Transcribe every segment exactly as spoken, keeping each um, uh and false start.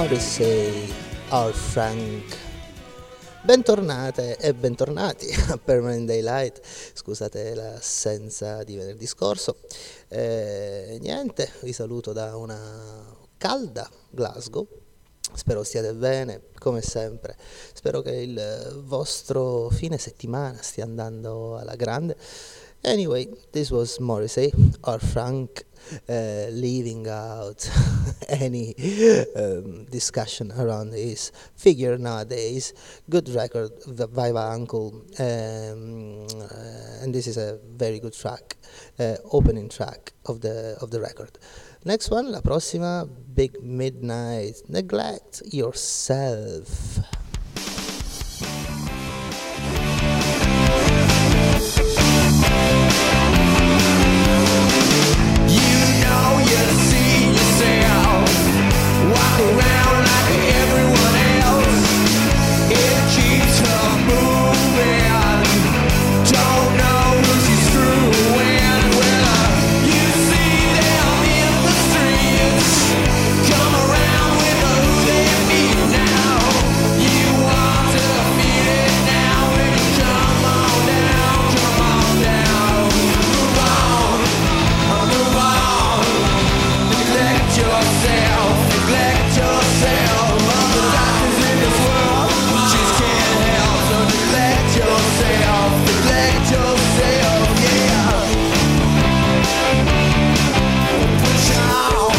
Morrissey, Our Frank. Bentornate e bentornati a Permanent Daylight, scusate l'assenza di venerdì scorso. Eh, niente, vi saluto da una calda Glasgow, spero stiate bene, come sempre, spero che il vostro fine settimana stia andando alla grande. Anyway, this was Morrissey, Our Frank, uh, leaving out any um, discussion around his figure nowadays. Good record, Viva Uncle, um, uh, and this is a very good track, uh, opening track of the of the record. Next one, la prossima, Big Midnight, Neglect Yourself. Walk around like everyone else. It keeps her moving. Don't know who she's screwing with. You see them in the streets. Come around with who they meet now. You want to feel it now. When you come on down, come on down. Move on, move on. Neglect yourself. Neglect yourself. All the doctors in this world just can't help. So neglect yourself. Neglect yourself, yeah. Push on.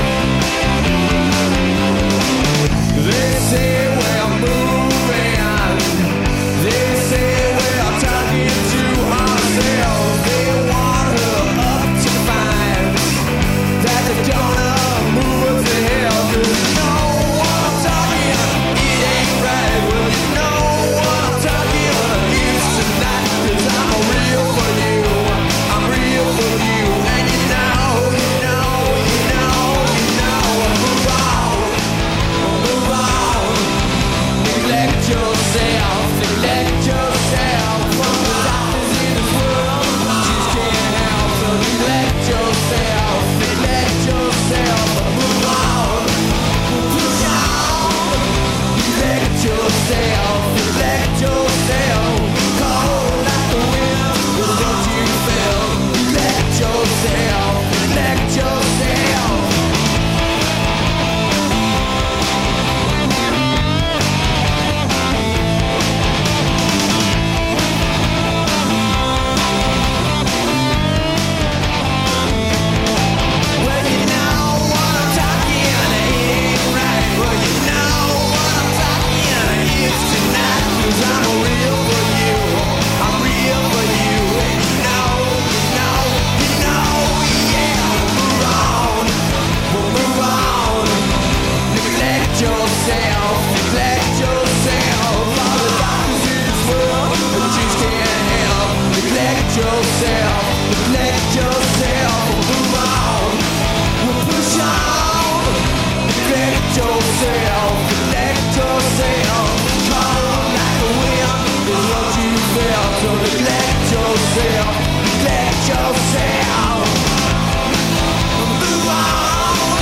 They say we're moving. They say we're talking to ourselves. They want her up to find that they're gonna move her to hell. Cause you know what I'm talking, it ain't right. Well, you know what I'm talking, it's tonight. Cause I'm real for you, I'm real for you. And you know, you know, you know, you know. Move on, move on. Neglect yourself, neglect yourself. From the doctors in this world, just can't help. So neglect yourself, neglect yourself. Move on, push on. Neglect yourself, neglect yourself. Cold like the wind is what you feel. Neglect yourself, neglect yourself. Well, you know what I'm talking, it ain't right. Well, you know what I'm talking, it's tonight. Cause I'm real for you, I'm real for you. And you know, you know, you know, yeah. Move on, well, move on. Neglect yourself, neglect yourself. All the doctors in this world just can't help. Neglect yourself, neglect yourself. Move on, well, push on. Neglect yourself, neglect yourself. Cold like the wind is what you feel. So neglect yourself, neglect yourself. Move on.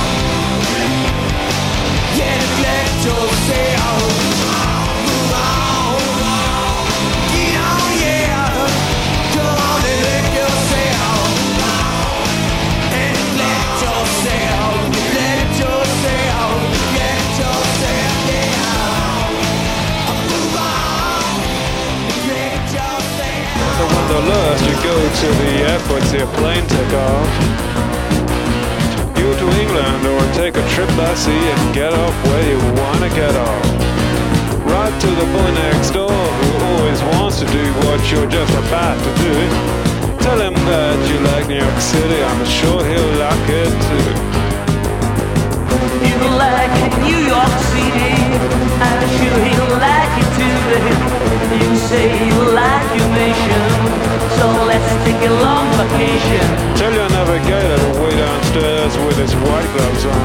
Yeah, neglect yourself. Move on. Get on, yeah. Come on, neglect yourself. And neglect yourself. Neglect yourself. Neglect yourself, yeah. Move on. Neglect yourself. The wanderlust, you go to the airport, see a plane take off. You to England or take a trip by sea and get off where you wanna get off. Right to the boy next door who always wants to do what you're just about to do. Tell him that you like New York City, I'm sure he'll like it too. You like New York City, I'm sure he'll like it too, babe. You say you like your nation, so let's take a long vacation. Tell your navigator to wait downstairs with his white gloves on.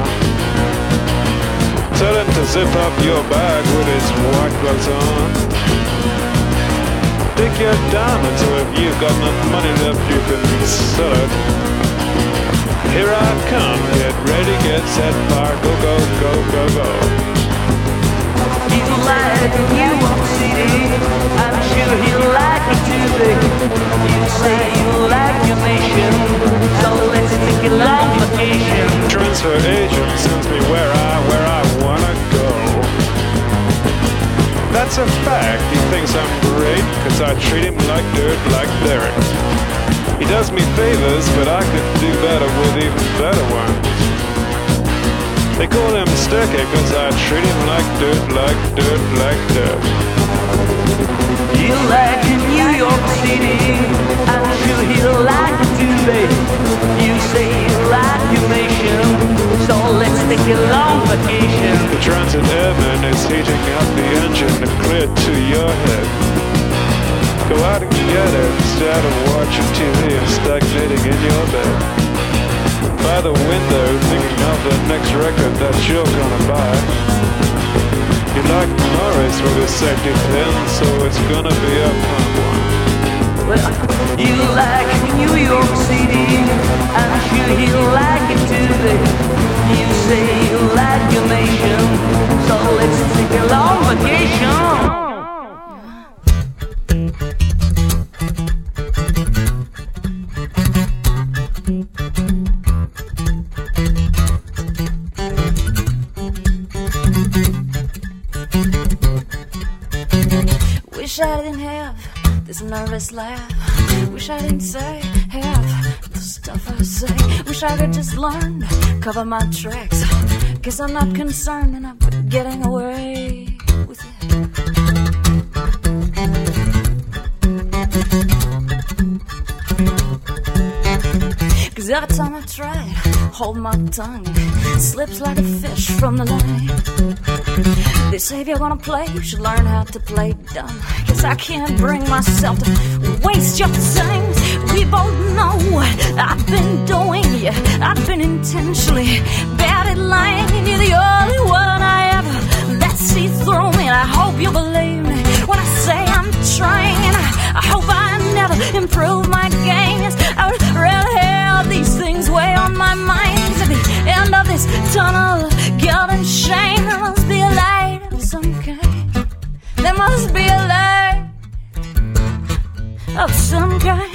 Tell him to zip up your bag with his white gloves on. Dig your diamonds, so if you've got enough money left you can sell it. Here I come, get ready, get set, fire, go, go, go, go, go. He's like a New York City, I'm sure he'll like it too big. You say you like your nation, so let's take a long vacation. Transfer agent sends me where I, where I wanna go. That's a fact, he thinks I'm great, cause I treat him like dirt, like Derek. He does me favors, but I could do better with even better ones. They call him Sticky, cause I treat him like dirt, like dirt, like dirt. You like New York City, I'm sure he'll like it too big. You say you like your nation, so let's take a long vacation. The transit airman is heating up the engine and clear to your head. Go out and get it instead of watching T V and stagnating in your bed. By the window, thinking of the next record that you're gonna buy. You like Morris with his safety pin, so it's gonna be a fun one. Well, you like New York City, I'm sure he'll like it too big. You say you like your nation, so let's take a long vacation. Wish I didn't have this nervous laugh. Wish I didn't say half the stuff I say. Wish I could just learn to cover my tracks. Guess I'm not concerned enough with getting away with it. Cause every time I try it, hold my tongue, it slips like a fish from the line. They say if you're gonna play, you should learn how to play dumb. Guess I can't bring myself to waste your time. We both know what I've been doing. Yeah, I've been intentionally bad at lying. And you're the only one I ever let see through me. And I hope you believe me when I say I'm trying. And I, I hope I never improve my game. Yes, I would rather have these things weigh on my mind. At the end of this tunnel, guilt and shame, there must be a light of some kind. There must be a light of some kind.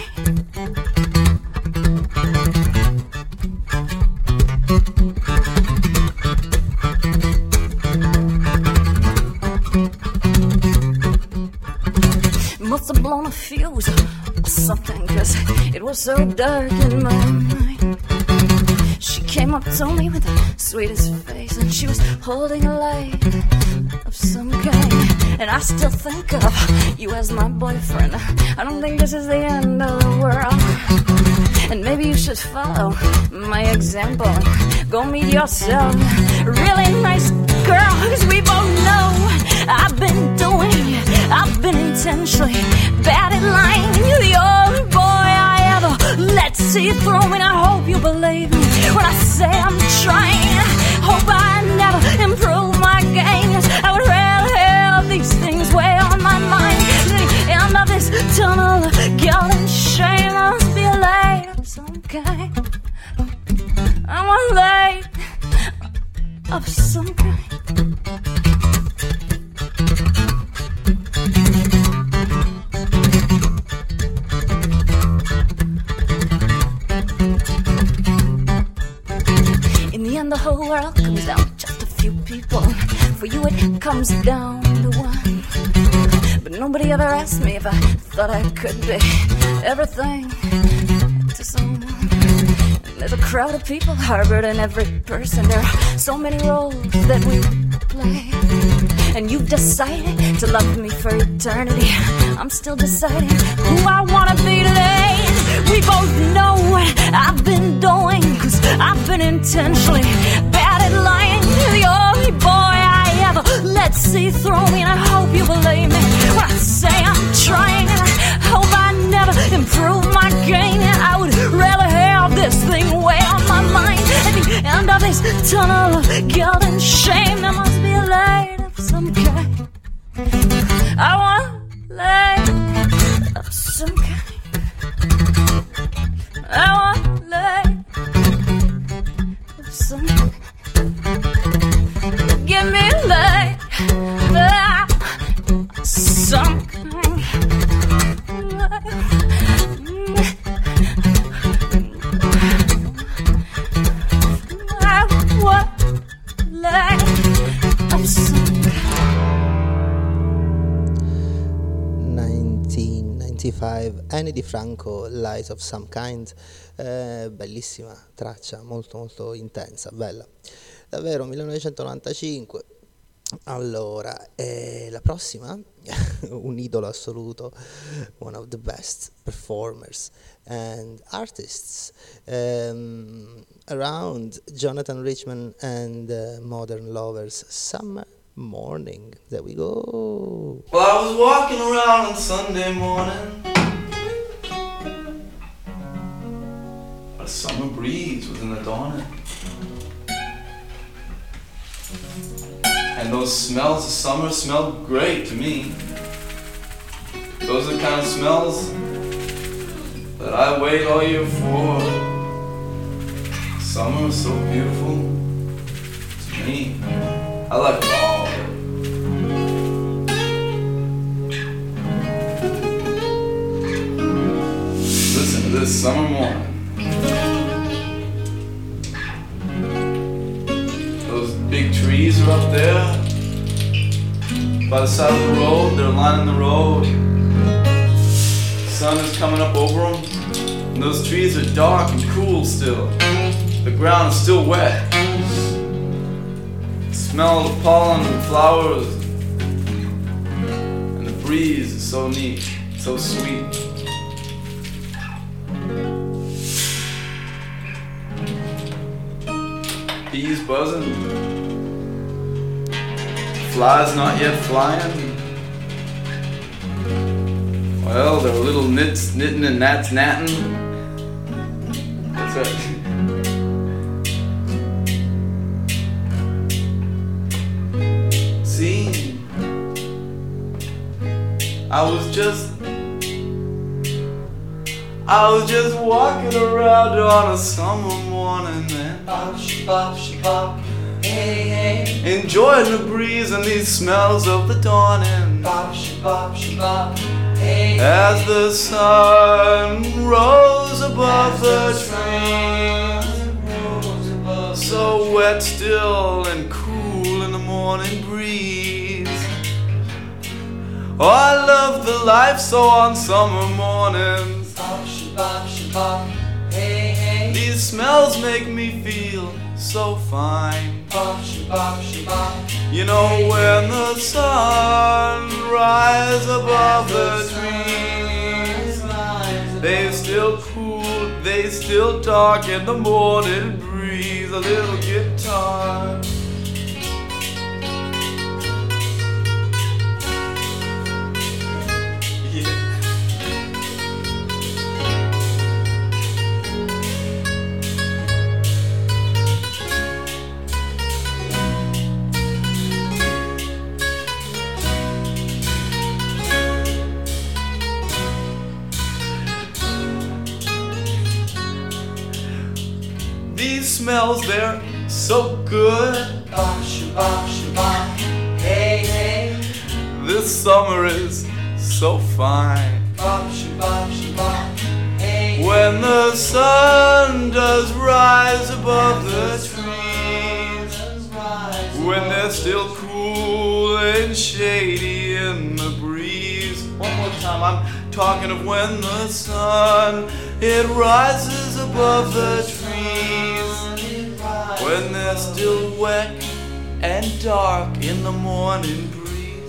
Must have blown a fuse or something, cause it was so dark in my mind. She came up to me with the sweetest face, and she was holding a light of some kind. And I still think of you as my boyfriend. I don't think this is the end of the world. And maybe you should follow my example and go meet yourself a really nice girl. Cause we both know I've been doing, I've been intentionally bad at lying. And you're the only boy I ever let see through me. And I hope you believe me when I say I'm trying. Hope I never improve my game. I would rather have these things weigh on my mind. At the end of this tunnel, guilt and shame, there must be a light of some kind. I want a light of some kind. In the end, the whole world comes down to just a few people. For you, it comes down to one. But nobody ever asked me if I thought I could be everything to someone. And there's a crowd of people harbored in every person. There are so many roles that we play. And you've decided to love me for eternity. I'm still deciding who I wanna be today. We both know what I've been doing, cause I've been intentionally bad at lying. You're the only boy I ever let see through me. And I hope you believe me when I say I'm trying. And I hope I never improve my game. And I would rather have this thing weigh on my mind. At the end of this tunnel of guilt and shame, there must be a light of some kind. I want a light of some kind. I want a light sunk. Give me light, ah, sunk. I want light of sunk. millenovecentonovantacinque, Annie DiFranco, Light of Some Kind, eh, bellissima traccia, molto molto intensa, bella, davvero. Millenovecentonovantacinque. Allora, eh, la prossima, un idolo assoluto, one of the best performers and artists um, around, Jonathan Richman and uh, Modern Lovers, Summer Morning. There we go. Well, I was walking around on Sunday morning. A summer breeze was in the dawning. And those smells of summer smelled great to me. Those are the kind of smells that I wait all year for. Summer is so beautiful to me. I like all of it. Listen to this summer morning. Those big trees are up there by the side of the road. They're lining the road. The sun is coming up over them. And those trees are dark and cool still. The ground is still wet. The smell of pollen and flowers. And the breeze is so neat, so sweet. Bees buzzing, flies not yet flying. Well, there are little nits knitting and gnats gnatting. That's right. See, I was just, I was just walking around on a summer morning, man. Bop, bop, bop, hey, hey. Enjoying the breeze and these smells of the dawning. Bop, bop, bop, hey, as the sun rose above the trees, so wet still and cool in the morning breeze. Oh, I love the life so on summer mornings. Bop, bop, bop, hey, hey. These smells make me feel so fine. Bop, bop, bop. You know, when the sun rises above the trees, they still cool, they still dark in the morning breeze. A little guitar. These smells, they're so good. Hey, hey. This summer is so fine. Hey, when the sun does rise above the trees, when they're still cool and shady in the breeze. One more time, I'm talking of when the sun, it rises above the trees, when they're still wet and dark in the morning breeze.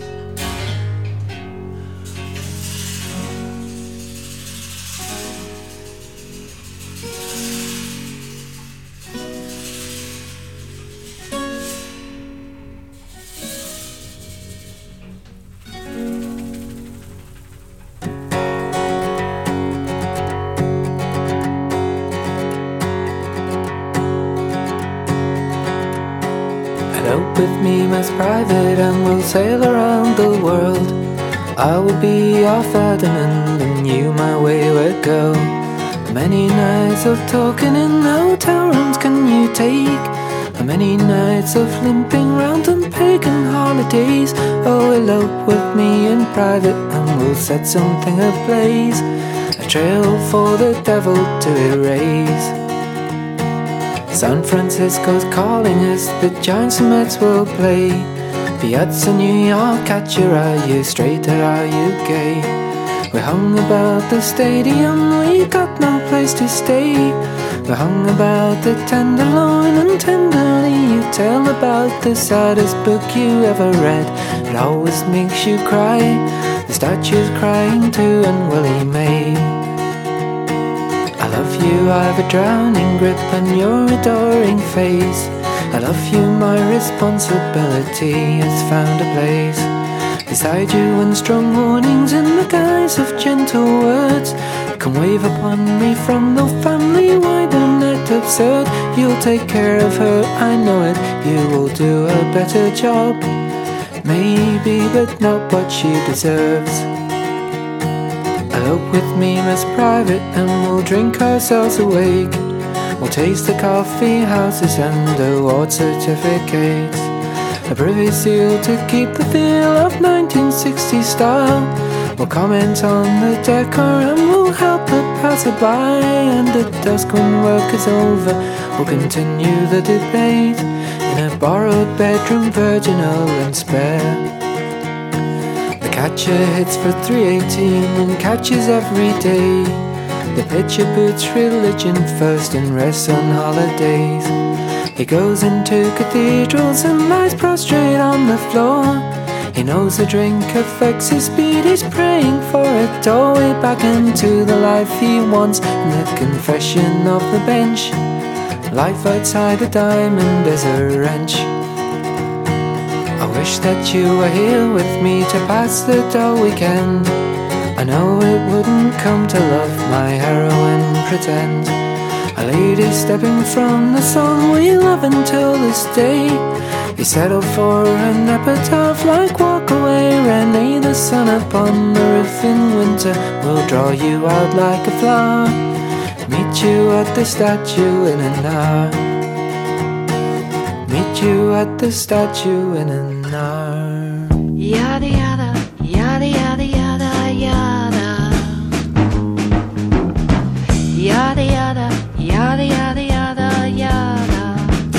Out with me, Miss Private, and we'll sail around the world. I will be your Ferdinand, and you my wayward girl. Many nights of talking in hotel rooms can you take? the many nights of limping round on pagan holidays. Oh, elope with me in private and we'll set something ablaze, a trail for the devil to erase. San Francisco's calling us, the Giants and Mets will play. Fiats in New York, at your are you straight or are you gay? We hung about the stadium, we got no place to stay. We hung about the Tenderloin and tenderly you tell about the saddest book you ever read. It always makes you cry, the statue's crying too and Willie May. I love you, I've a drowning grip on your adoring face. I love you, my responsibility has found a place beside you, and strong warnings in the guise of gentle words can wave upon me from the family-wide and net absurd. You'll take care of her, I know it, you will do a better job, maybe, but not what she deserves. Elope with me, Miss Private, and we'll drink ourselves awake. We'll taste the coffee houses and award certificates, a privy seal to keep the feel of nineteen sixties style. We'll comment on the decor and we'll help the passerby, and at dusk when work is over we'll continue the debate in a borrowed bedroom, virginal and spare. The catcher hits for three eighteen and catches every day. The pitcher puts religion first and rests on holidays. He goes into cathedrals and lies prostrate on the floor. He knows the drink affects his speed, he's praying for a doorway back into the life he wants. In the confession of the bench, life outside a diamond is a wrench. I wish that you were here with me to pass the dull weekend. I know it wouldn't come to love my heroine pretend. A lady stepping from the song we love until this day. You settle for an epitaph like Walk Away, Renee. The sun upon the roof in winter will draw you out like a flower. Meet you at the statue in an hour. Meet you at the statue in an hour. Yada yada, yada yada yada yada. Yada yada, yada yada yada yada.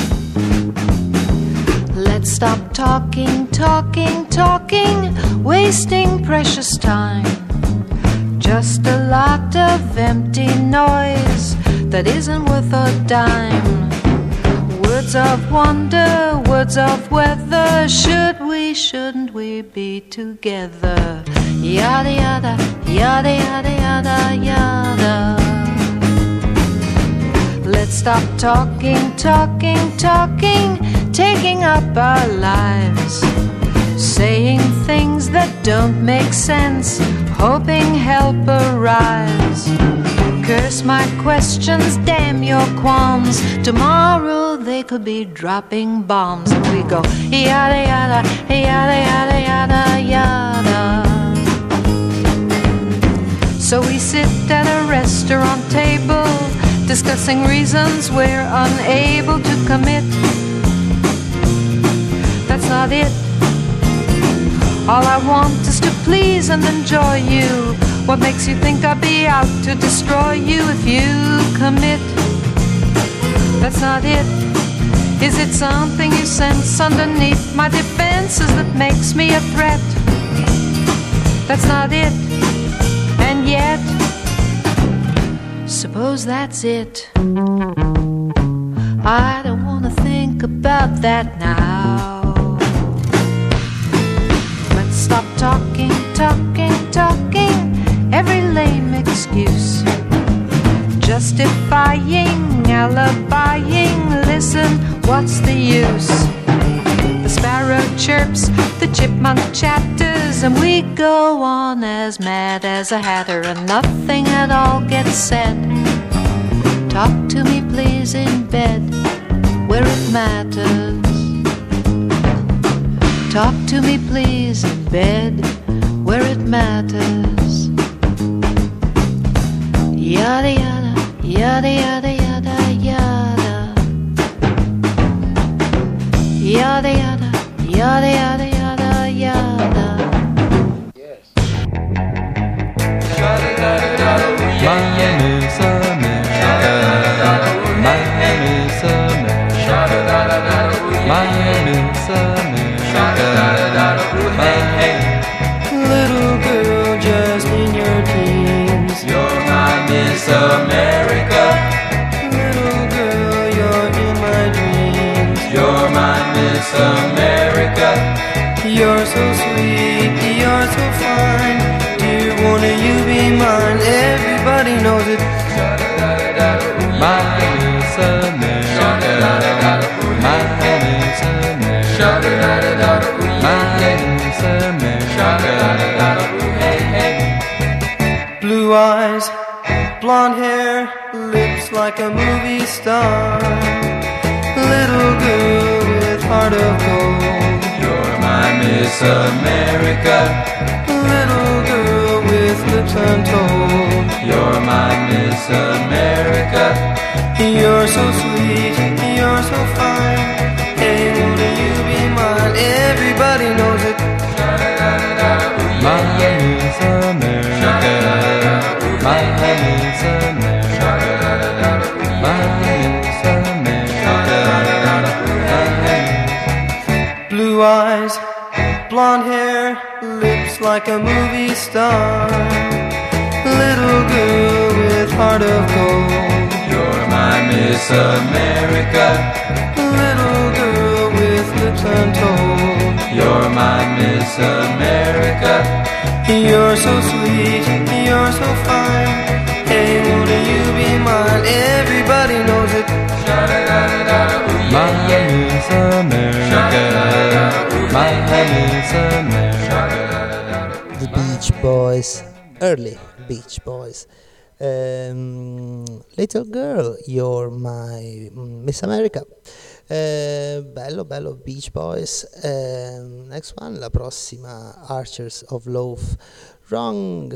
Let's stop talking, talking, talking, wasting precious time. Just a lot of empty noise that isn't worth a dime. Words of wonder, words of weather. Should we, shouldn't we be together? Yada yada, yada yada yada yada. Let's stop talking, talking, talking, taking up our lives, saying things that don't make sense, hoping help arrives. Curse my questions, damn your qualms. Tomorrow they could be dropping bombs. And we go yada yada, yada yada yada yada. So we sit at a restaurant table, discussing reasons we're unable to commit. That's not it. All I want is to please and enjoy you. What makes you think I'll be out to destroy you if you commit? That's not it. Is it something you sense underneath my defenses that makes me a threat? That's not it. And yet, suppose that's it. I don't want to think about that now. Let's stop talking, talking, talking. Every lame excuse, justifying, alibiing. Listen, what's the use? The sparrow chirps, the chipmunk chatters, and we go on as mad as a hatter, and nothing at all gets said. Talk to me please in bed, where it matters. Talk to me please in bed, where it matters. Yada yada, yada yada yada yada. Yada yada, yada yada yada yada. My name is America. My name is America. My name is America. My little girl just in your teens. You're my Miss America. Little girl, you're in my dreams. You're my Miss America. You're so sweet, you're so fine. Dear, won't you be mine? Everybody knows it. My Miss America. My Miss America. My Miss America. Blue eyes, blonde hair, lips like a movie star. Little girl with heart of gold. You're my Miss America. Little girl with lips untold. You're my Miss America. You're so sweet, you're so fine. Hey, won't you be mine? Everybody knows it. My Miss America. My Miss America. My Miss America. Blue eyes, blonde hair, lips like a movie star. Little girl with heart of gold. You're my Miss America. Little girl with lips untold. You're my Miss America. You're so sweet, you're so fine. Hey, won't you be mine? Everybody knows it. My Miss America. My Miss America. The Beach Boys, early Beach Boys. Um, Little Girl, You're My Miss America. Uh, bello, bello, Beach Boys. Uh, next one, la prossima, Archers of Love, Wrong.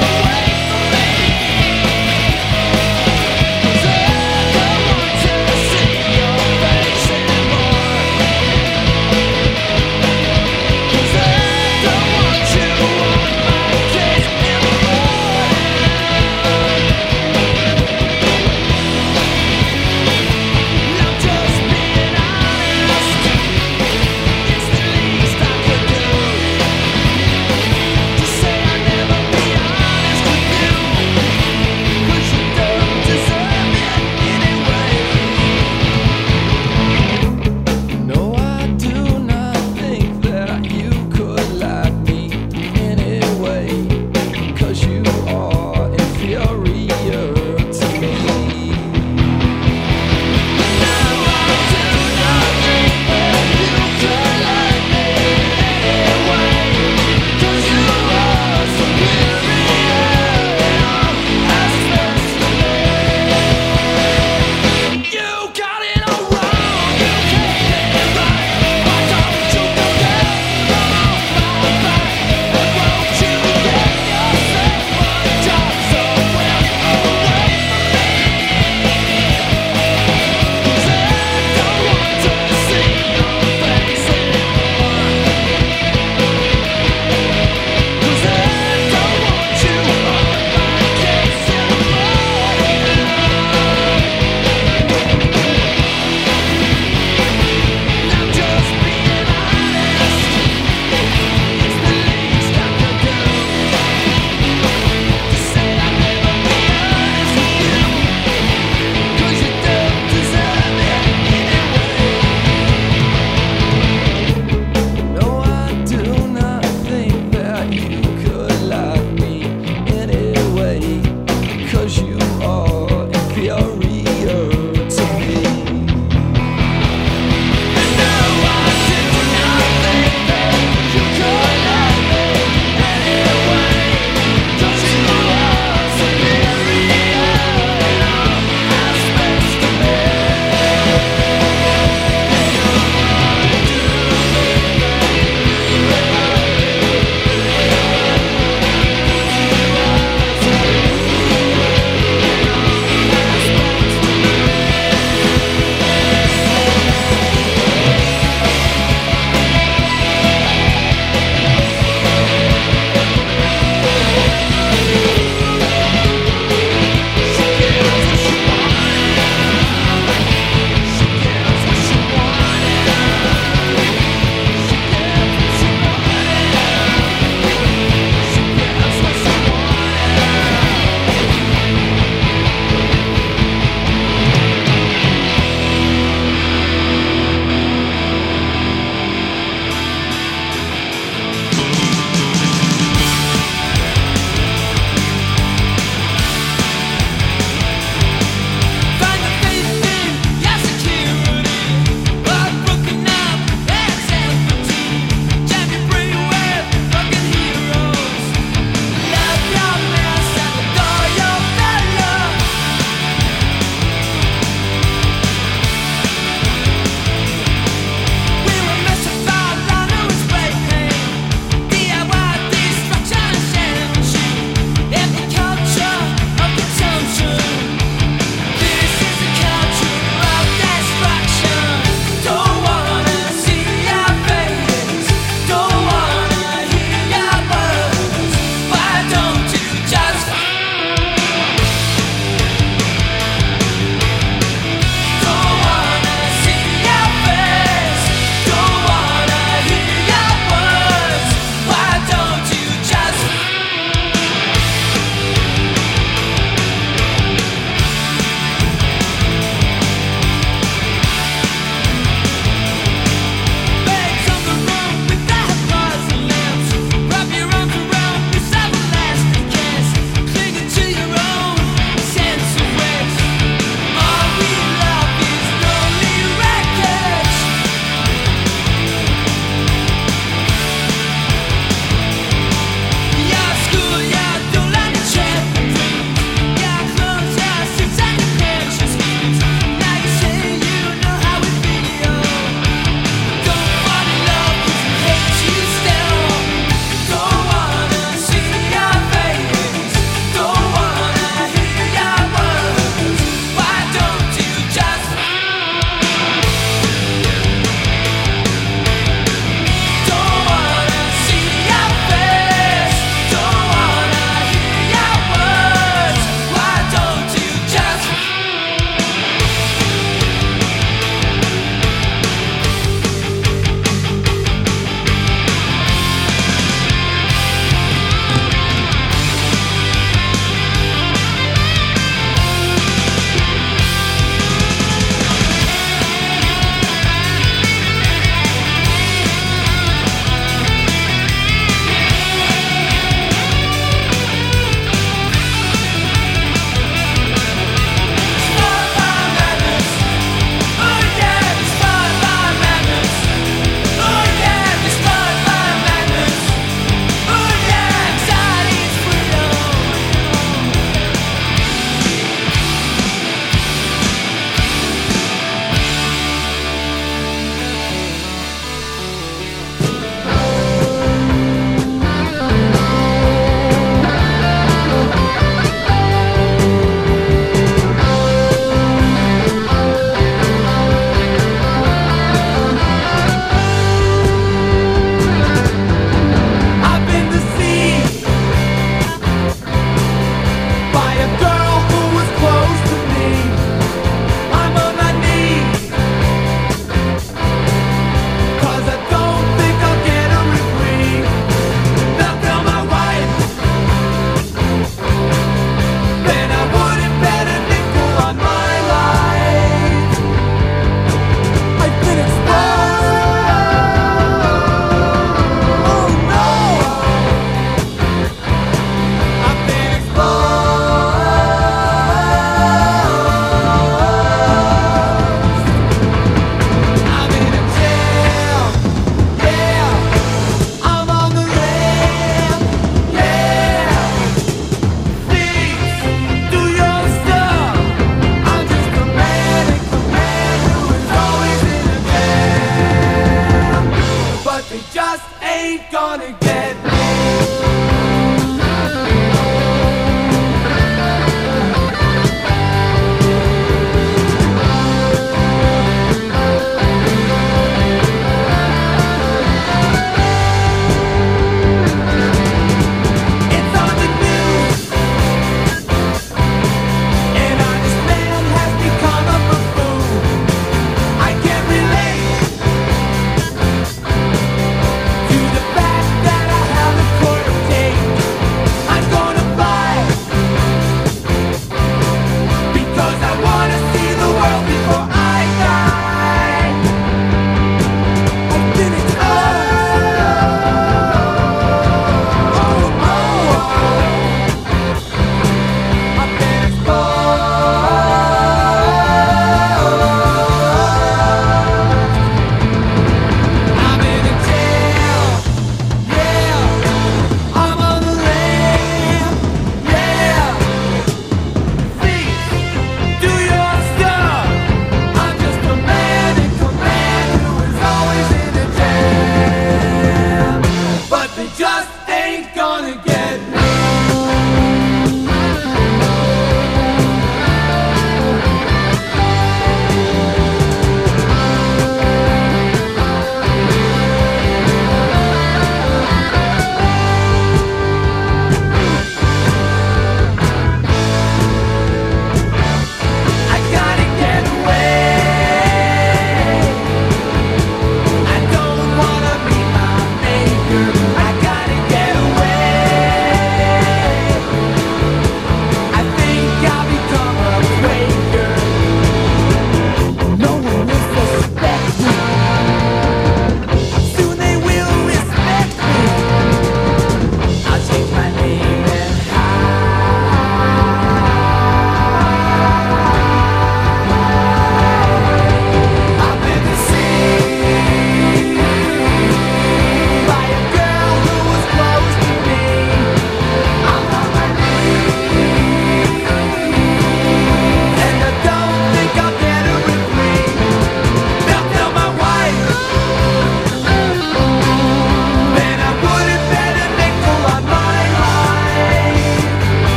Somewhere away from me. 'Cause I don't want to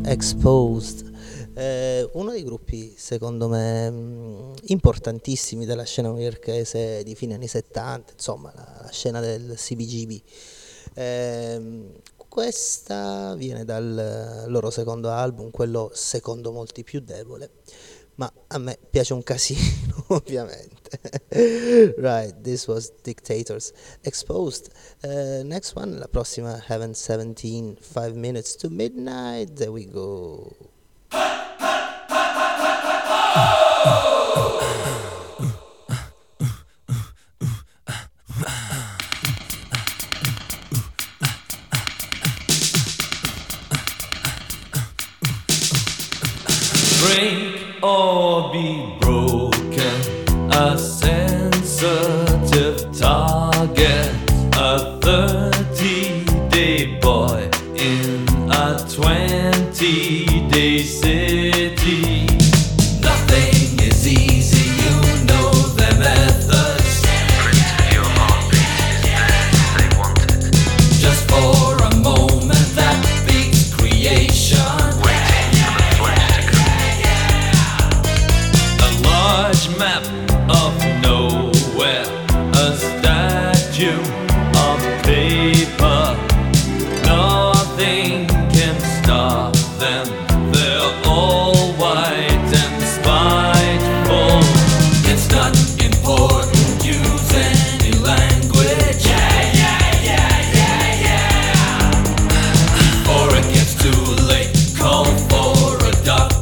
Exposed, eh, uno dei gruppi secondo me mh, importantissimi della scena newyorkese di fine anni settanta, insomma la, la scena del C B G B. Eh, questa viene dal loro secondo album, quello secondo molti più debole, ma a me piace un casino ovviamente. Right, this was Dictators, Exposed. Uh, next one, la prossima, Heaven seventeen, five minutes to midnight, there we go. Break or be broken, a sensitive target, a thirty-day boy in a twenty-day city. Nothing is easy, you know their methods. Print your heartbeat is there if they want it. Just for a moment that beats creation. Map of nowhere, a statue of paper. Nothing can stop them. They're all white and spiteful. It's not important, use any language. Yeah, yeah, yeah, yeah, yeah. Before it gets too late, call for a doctor.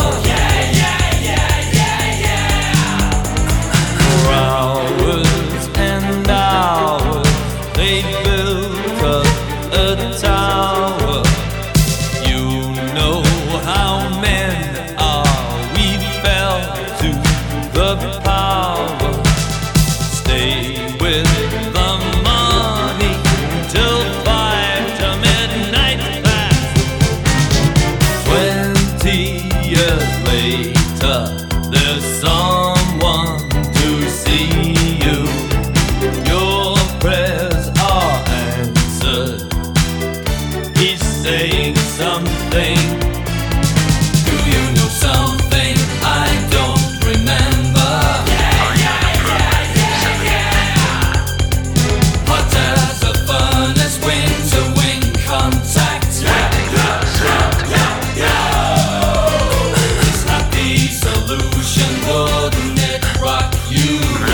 Hours and hours they built up a tower. You know how men are. We fell to the power. Stay with the money till five to midnight past. Twenty years later, there's someone to see you. Your prayers are answered. He's saying something. Do you know something I don't remember? Yeah, yeah, yeah, yeah, yeah. Hot as a furnace, wing to wing contact. This happy solution, wouldn't it rock you?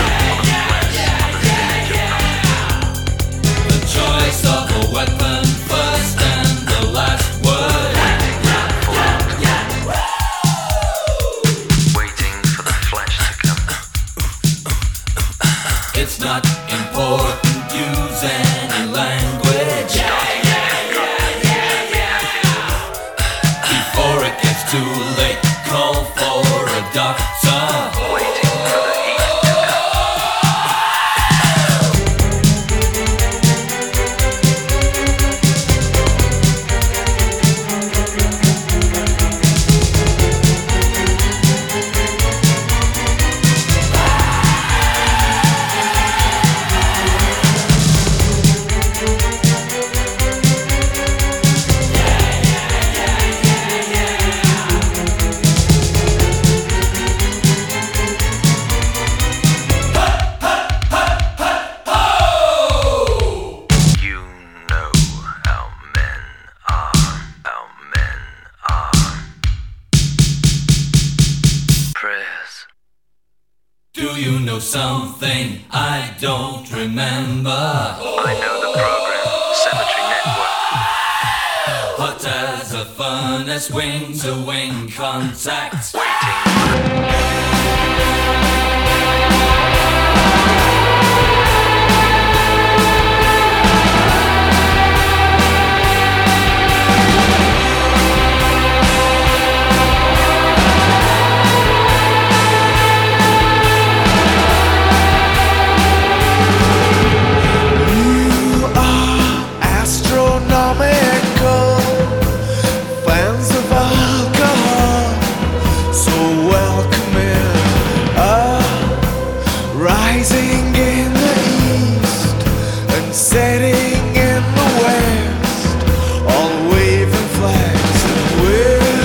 Choice of a weapon, first and the last word. Waiting for the flesh to come. It's not important, use any language. Before it gets too late, call for a doctor. Waiting for the heat to come. You know how men are, how men are. Prayers. Do you know something I don't remember? I know the program, Cemetery Network. Hot as a furnace, wing to wing contact. Waiting for the astronomical fans of alcohol, so welcoming, uh, rising in the east and setting in the west, all waving flags and we're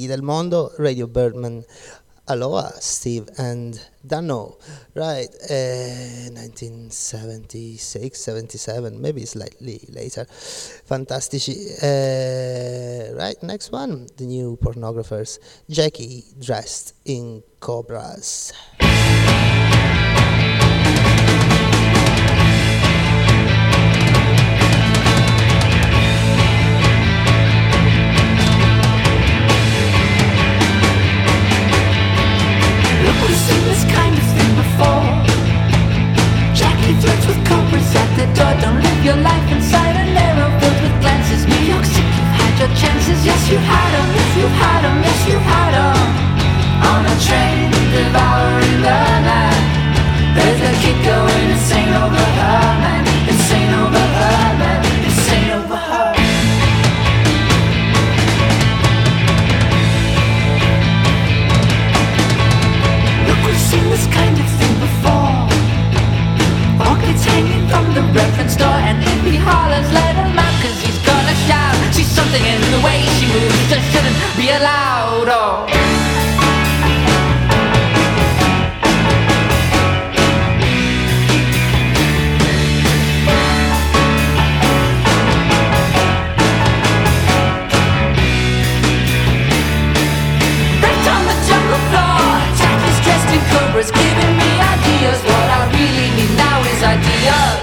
del mondo, Radio Birdman, Aloha, Steve and Dano, right, uh, nineteen seventy-six, seventy-seven, maybe slightly later, fantastici, uh, right, next one, the new Pornographers, Jackie Dressed in Cobras. We've seen this kind of thing before. Jackie flirts with cobras at the door. Don't live your life inside a narrow world with glances. New York City, you've had your chances. Yes, you've had them. Yes, you've had them. Yes, you've had them. On a train devouring the night. There's a kid going insane over her, man. Insane over her, man. Insane over her. We've seen this kind of thing before. Pockets hanging from the reference door. And if he hollers, let him out, cause he's gonna shout. See something in the way she moves that shouldn't be allowed. Oh. Cobras giving me ideas. What I really need now is ideas.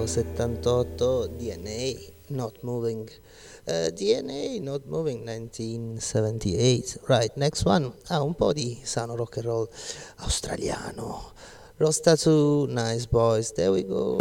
millenovecentosettantotto, D N A, Not Moving. Uh, D N A, Not Moving, nineteen seventy-eight. Right, next one. Ah, un po' di sano rock and roll australiano. Rosta two, Nice Boys, there we go.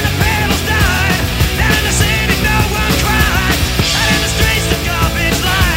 Down in the streets, the garbage line.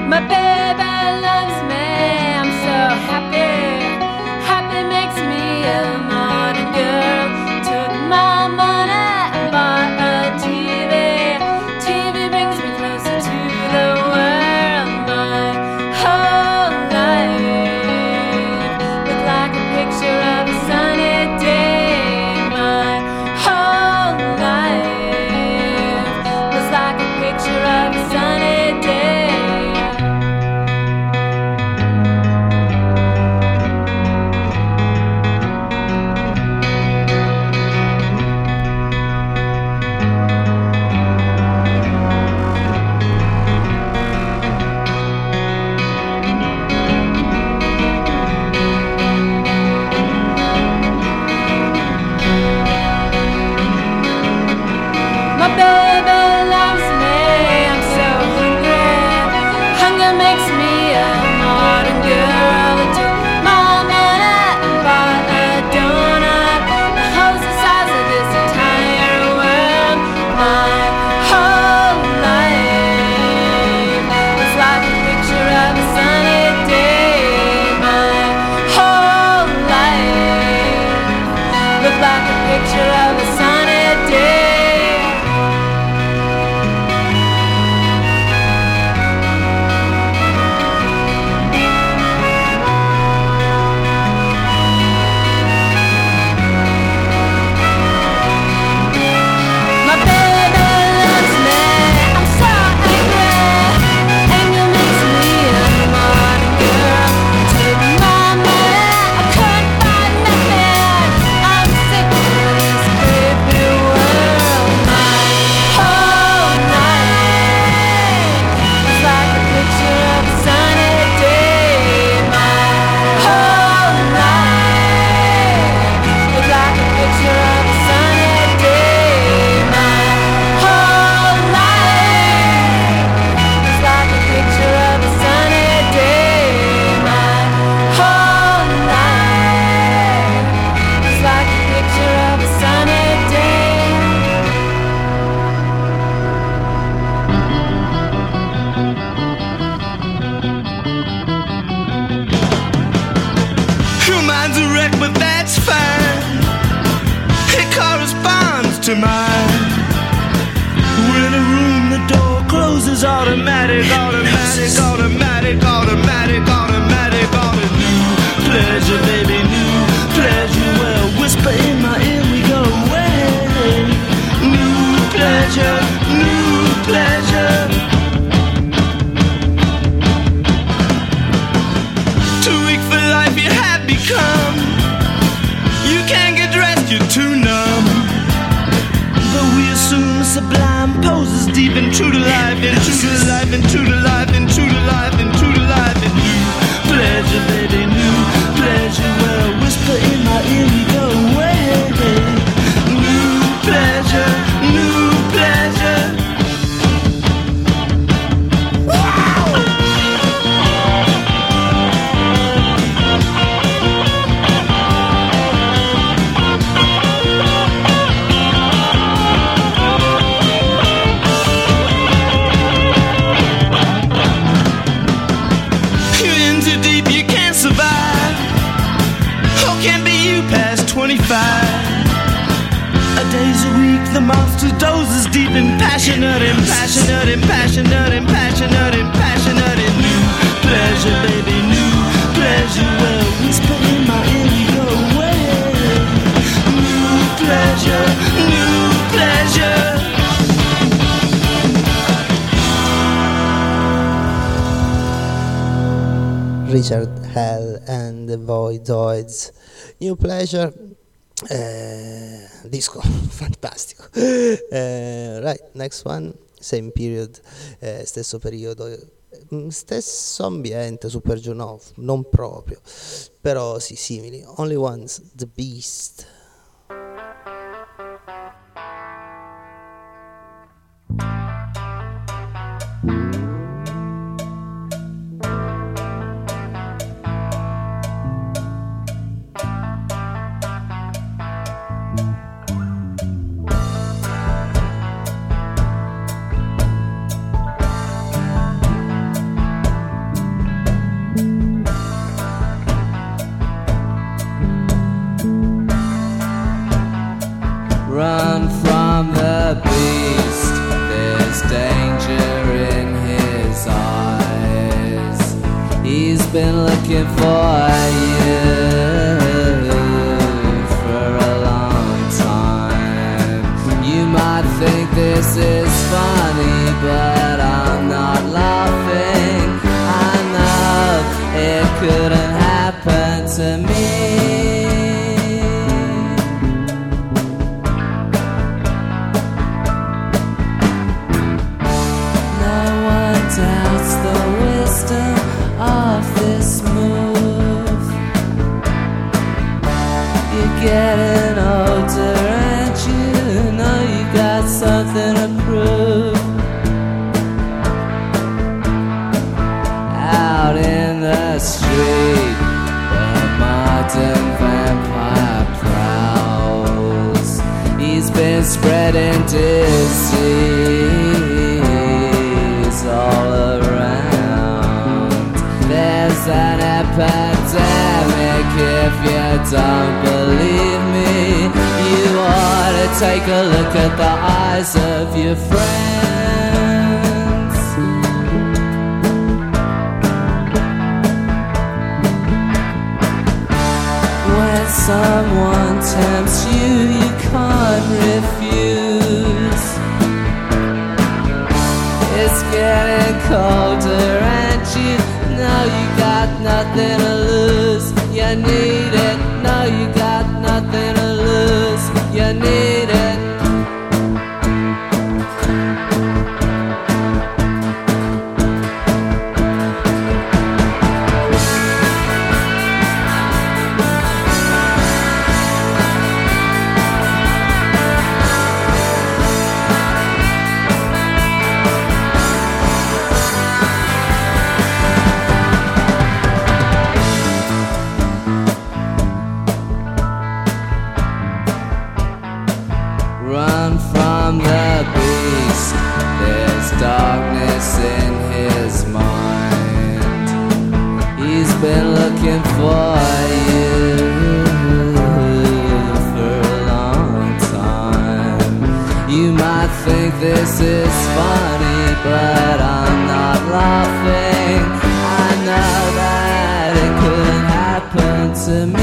My baby loves me, I'm so happy. Happy makes me a modern girl. Took my money and bought a T V. T V brings me closer to the world. My whole life looked like a picture of a sunny day. My whole life was like a picture of a sunny day. My baby loves me, I'm so hungry. Hunger makes me a modern girl. I took my money and bought a donut. The house the size of this entire world. My whole life was like a picture of a sunny day. My whole life looked like a picture of a sunny day. My baby loves me, I'm so angry. Anger makes me a modern girl. Took my money, I couldn't buy nothing. I'm sick of this creepy world. My whole life was like a picture of a sunny day. My whole life was like a picture of a sunny day. My whole life was like a picture of a sunny day. My whole life was like a picture of a sunny day. Your mind's a wreck, but that's fine. It corresponds to mine. We're in a room, the door closes automatic, automatic, automatic, automatic, automatic, automatic. New pleasure, baby, new pleasure. Well, whisper in my ear, we go away. New pleasure, new pleasure. Too weak for life you have become. You can't get dressed, you're too numb. But we assume sublime poses deep into the life, into the life, into the life, into the life, into the life. And new pleasure, baby, new pleasure. Well, whisper in my ear, we go away. New pleasure, new pleasure. You're in too deep, you can't survive. Oh, can't be you past twenty-five. A day's a week, the monster dozes deep and passionate and passionate and passionate and passionate and passionate and new pleasure, baby, new pleasure. Well, whisper in my ear, we go away. New pleasure, new pleasure. Richard Hell and the Voidoids, New Pleasure, eh, disco fantastico. Eh, right, next one, same period, eh, stesso periodo, mm, stesso ambiente, Super Juno, non proprio, però sì, simili. Only Ones, The Beast. been looking for you for a long time. You might think this is funny, but I'm not laughing. I know it couldn't happen to me. Doubts the wisdom of this move. You're getting older and you know you got something to prove. Out in the street, the modern vampire prowls. He's been spreading disease all around. There's an epidemic. If you don't believe me, you ought to take a look at the eyes of your friends. When someone tempts you, you can't refuse. It's getting colder and you know you got nothing to lose. You need it, no you got nothing to lose. You need it. Run from the beast. There's darkness in his mind. He's been looking for you for a long time. You might think this is funny, but I'm not laughing. I know that it couldn't happen to me.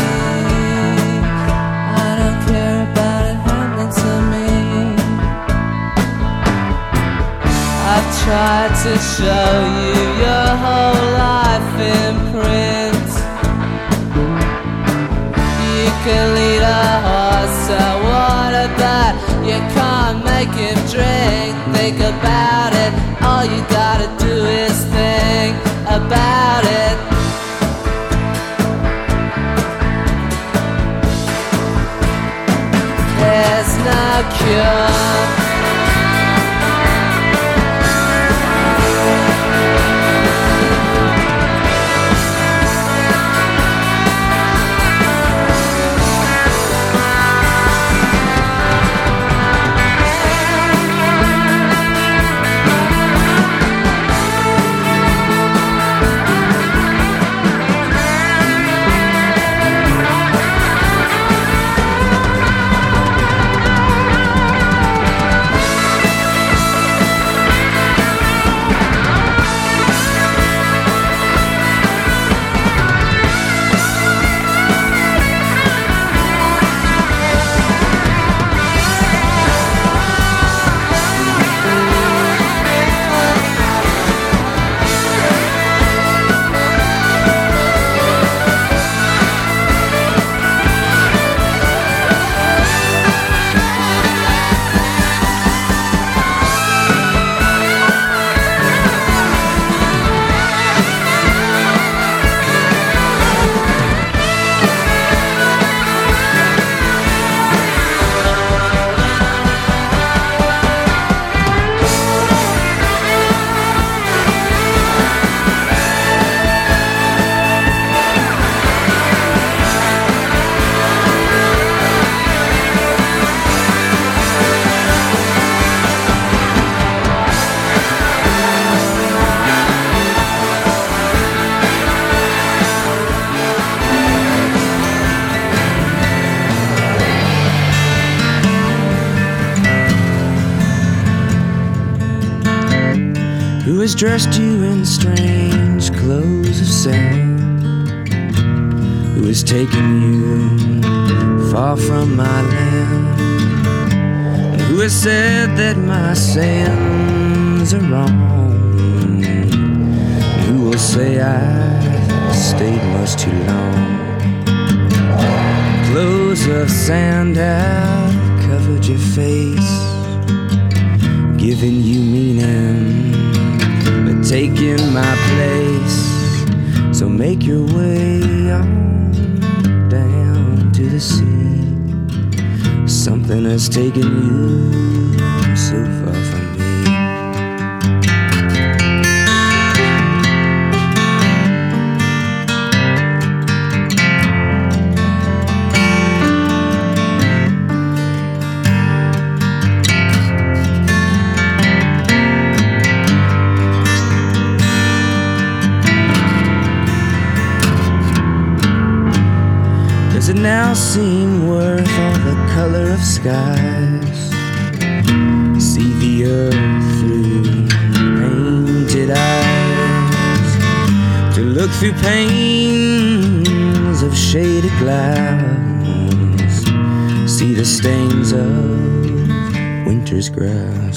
I've tried to show you your whole life in print. You can lead a horse to water, but you can't make him drink. Think about it, all you gotta do is think about it. There's no cure. has dressed you in strange clothes of sand, who has taken you far from my land, and who has said that my sins are wrong, and who will say I stayed much too long. Clothes of sand have covered your face, giving you meaning, but taking my place. So make your way on down to the sea. Something has taken you so far from me. Does it now seem worth all the color of skies? See the earth through painted eyes, to look through panes of shaded glass, see the stains of winter's grass.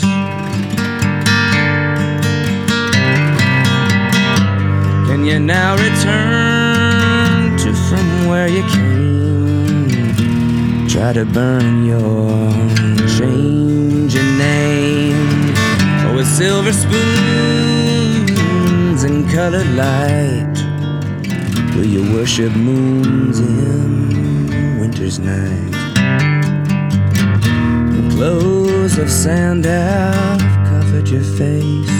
Can you now return to from where you came? Try to burn your changing name, oh, with silver spoons and colored light. Will you worship moons in winter's night? The clothes of sand have covered your face,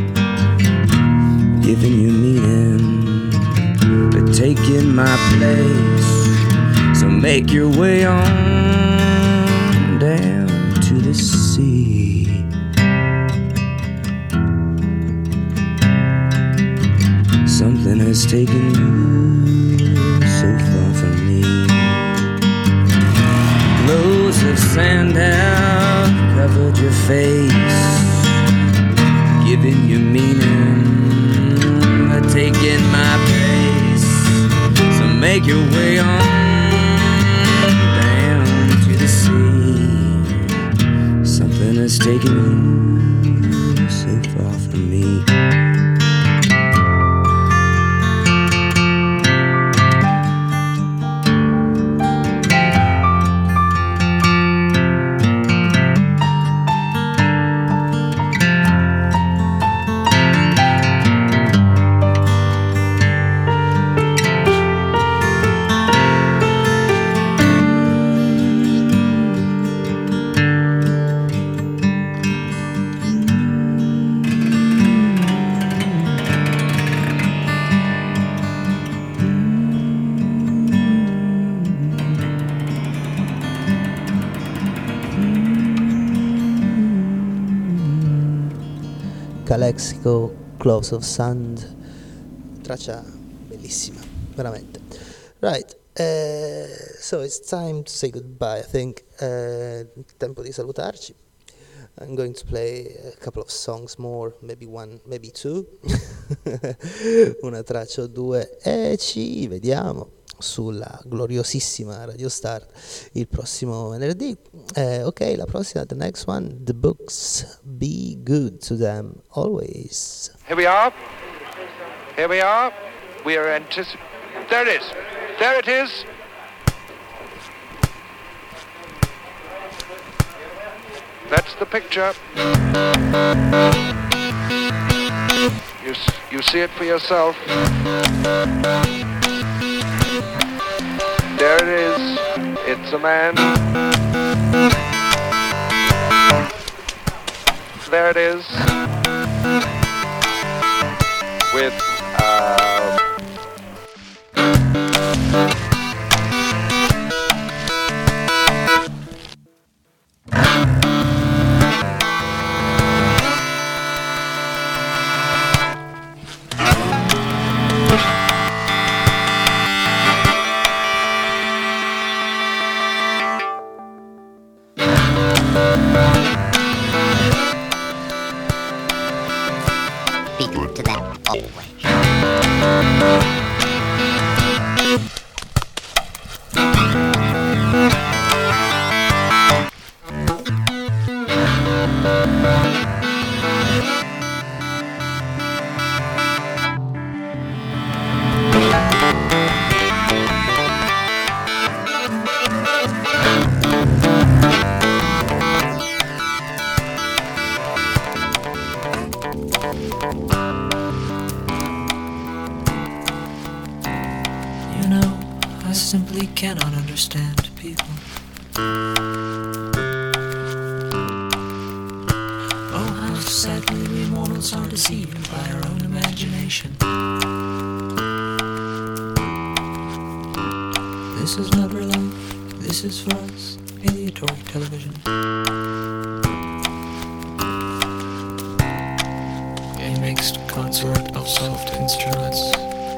giving you meaning, but taking my place. So make your way on down to the sea. Something has taken you so far from me. Clothes of sand have covered your face, giving you meaning, but taking my place. So make your way on has taken you so far from me. Calexico, Clothes of Sand, traccia bellissima, veramente. Right, uh, so it's time to say goodbye, I think. Uh, tempo di salutarci. I'm going to play a couple of songs more, maybe one, maybe two, una traccia o due, e ci vediamo sulla gloriosissima Radio Start il prossimo venerdì. Eh, ok, la prossima, the next one, the books. Be good to them always. Here we are. Here we are. We are anticipating. There it is. There it is. That's the picture. You, you see it for yourself. There it is. It's a man. There it is. With uh You know, I simply cannot understand people. Oh, how sadly we mortals are deceived by our own imagination. This is not real life, this is for us, aleatory television. A mixed consort of soft instruments.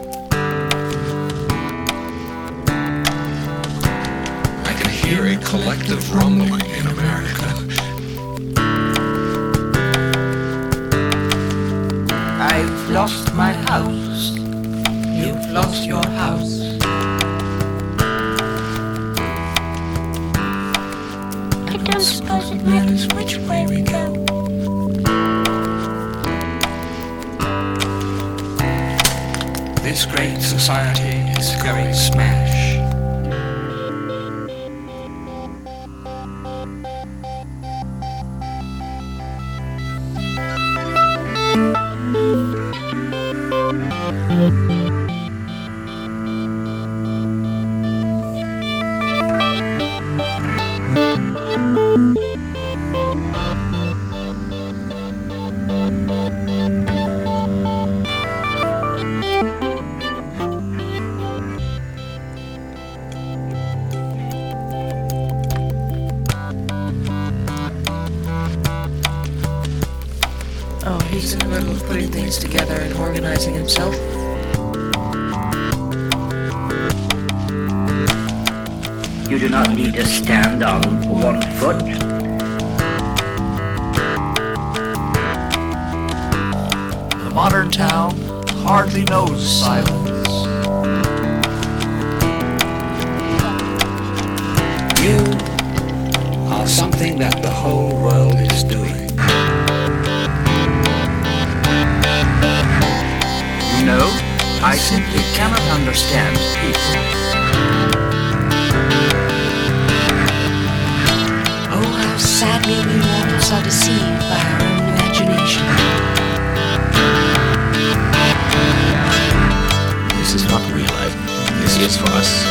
I can hear a collective rumbling in America. I've lost my house. You've lost your house. I don't suppose it matters which way we go. This great society is going smash. Oh, he's in the middle of putting things together and organizing himself. You do not need to stand on one foot. The modern town hardly knows silence. You are something that the whole world is doing. No, I simply cannot understand people. Oh, how sadly we mortals are deceived by our own imagination. This is not real life. This is for us,